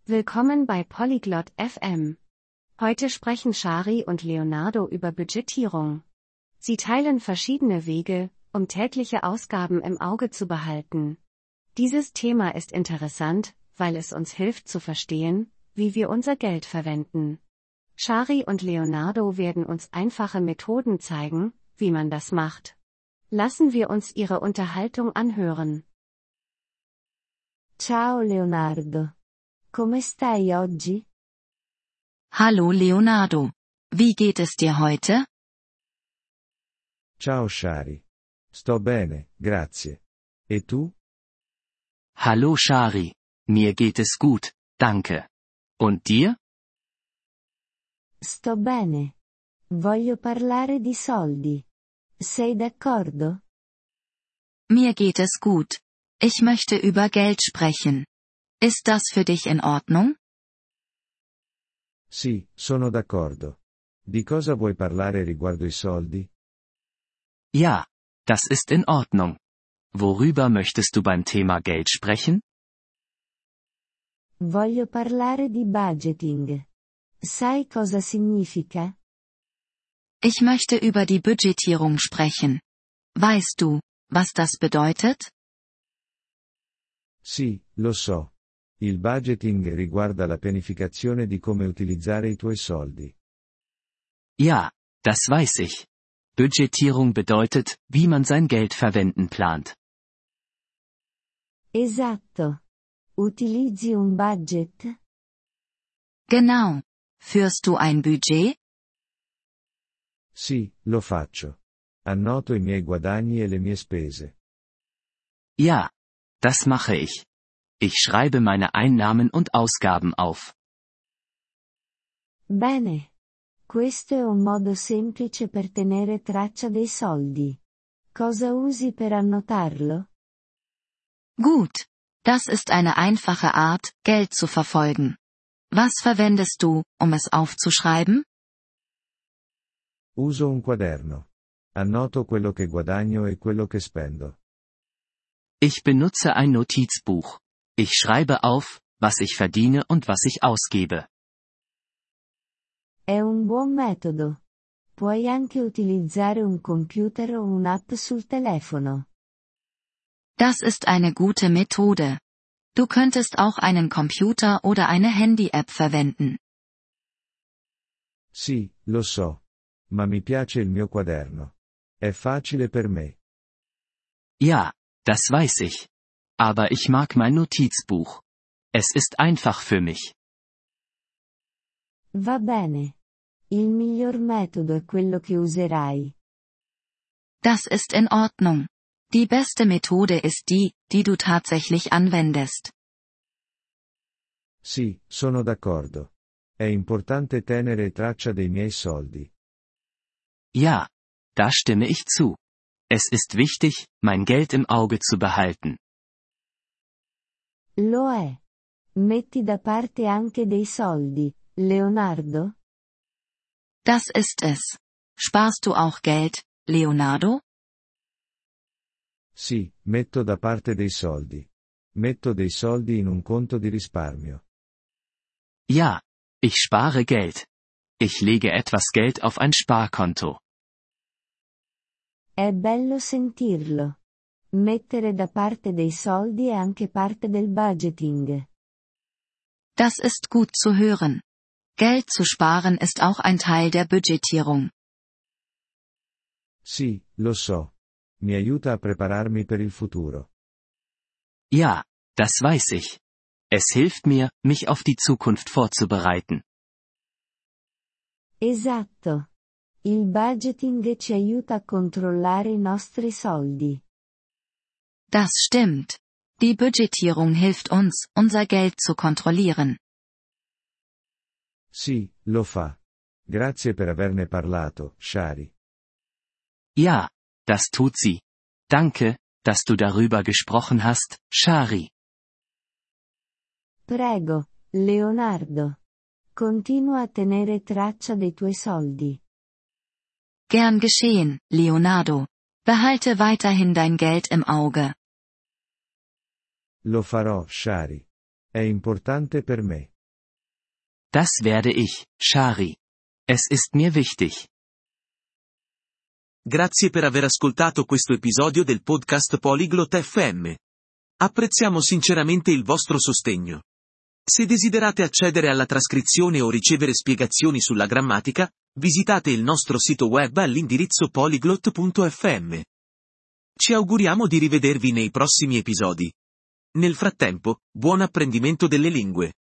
Willkommen bei Polyglot FM. Heute sprechen Shari und Leonardo über Budgetierung. Sie teilen verschiedene Wege, um tägliche Ausgaben im Auge zu behalten. Dieses Thema ist interessant, weil es uns hilft zu verstehen, wie wir unser Geld verwenden. Shari und Leonardo werden uns einfache Methoden zeigen, wie man das macht. Lassen wir uns ihre Unterhaltung anhören. Ciao Leonardo. Come stai oggi? Hallo Leonardo. Wie geht es dir heute? Ciao Shari. Sto bene, grazie. E tu? Hallo Shari. Mir geht es gut, danke. Und dir? Sto bene. Voglio parlare di soldi. Sei d'accordo? Mir geht es gut. Ich möchte über Geld sprechen. Ist das für dich in Ordnung? Sì, sono d'accordo. Di cosa vuoi parlare riguardo i soldi? Ja, das ist in Ordnung. Worüber möchtest du beim Thema Geld sprechen? Voglio parlare di budgeting. Sai cosa significa? Ich möchte über die Budgetierung sprechen. Weißt du, was das bedeutet? Sì, lo so. Il budgeting riguarda la pianificazione di come utilizzare i tuoi soldi. Ja, das weiß ich. Budgetierung bedeutet, wie man sein Geld verwenden plant. Esatto. Utilizzi un budget? Genau. Führst du ein Budget? Sì, lo faccio. Annoto i miei guadagni e le mie spese. Ja, das mache ich. Ich schreibe meine Einnahmen und Ausgaben auf. Bene. Questo è un modo semplice per tenere traccia dei soldi. Cosa usi per annotarlo? Gut. Das ist eine einfache Art, Geld zu verfolgen. Was verwendest du, um es aufzuschreiben? Uso un quaderno. Annoto quello che guadagno e quello che spendo. Ich benutze ein Notizbuch. Ich schreibe auf, was ich verdiene und was ich ausgebe. È un buon metodo. Puoi anche utilizzare un computer o un'app sul telefono. Das ist eine gute Methode. Du könntest auch einen Computer oder eine Handy-App verwenden. Sì, lo so. Ma mi piace il mio quaderno. È facile per me. Ja, das weiß ich. Aber ich mag mein Notizbuch. Es ist einfach für mich. Va bene. Il miglior metodo è quello che userai. Das ist in Ordnung. Die beste Methode ist die, die du tatsächlich anwendest. Sì, sono d'accordo. È importante tenere traccia dei miei soldi. Ja, da stimme ich zu. Es ist wichtig, mein Geld im Auge zu behalten. Lo è. Metti da parte anche dei soldi, Leonardo? Das ist es. Sparst du auch Geld, Leonardo? Sì, metto da parte dei soldi. Metto dei soldi in un conto di risparmio. Ja, ich spare Geld. Ich lege etwas Geld auf ein Sparkonto. È bello sentirlo. Mettere da parte dei soldi è anche parte del budgeting. Das ist gut zu hören. Geld zu sparen ist auch ein Teil der Budgetierung. Sì, lo so. Mi aiuta a prepararmi per il futuro. Ja, das weiß ich. Es hilft mir, mich auf die Zukunft vorzubereiten. Esatto. Il budgeting ci aiuta a controllare i nostri soldi. Das stimmt. Die Budgetierung hilft uns, unser Geld zu kontrollieren. Sì, lo fa. Grazie per averne parlato, Shari. Ja, das tut sie. Danke, dass du darüber gesprochen hast, Shari. Prego, Leonardo. Continua a tenere traccia dei tuoi soldi. Gern geschehen, Leonardo. Behalte weiterhin dein Geld im Auge. Lo farò, Shari. È importante per me. Das werde ich, Shari. Es ist mir wichtig. Grazie per aver ascoltato questo episodio del podcast Polyglot FM. Apprezziamo sinceramente il vostro sostegno. Se desiderate accedere alla trascrizione o ricevere spiegazioni sulla grammatica, visitate il nostro sito web all'indirizzo polyglot.fm. Ci auguriamo di rivedervi nei prossimi episodi. Nel frattempo, buon apprendimento delle lingue.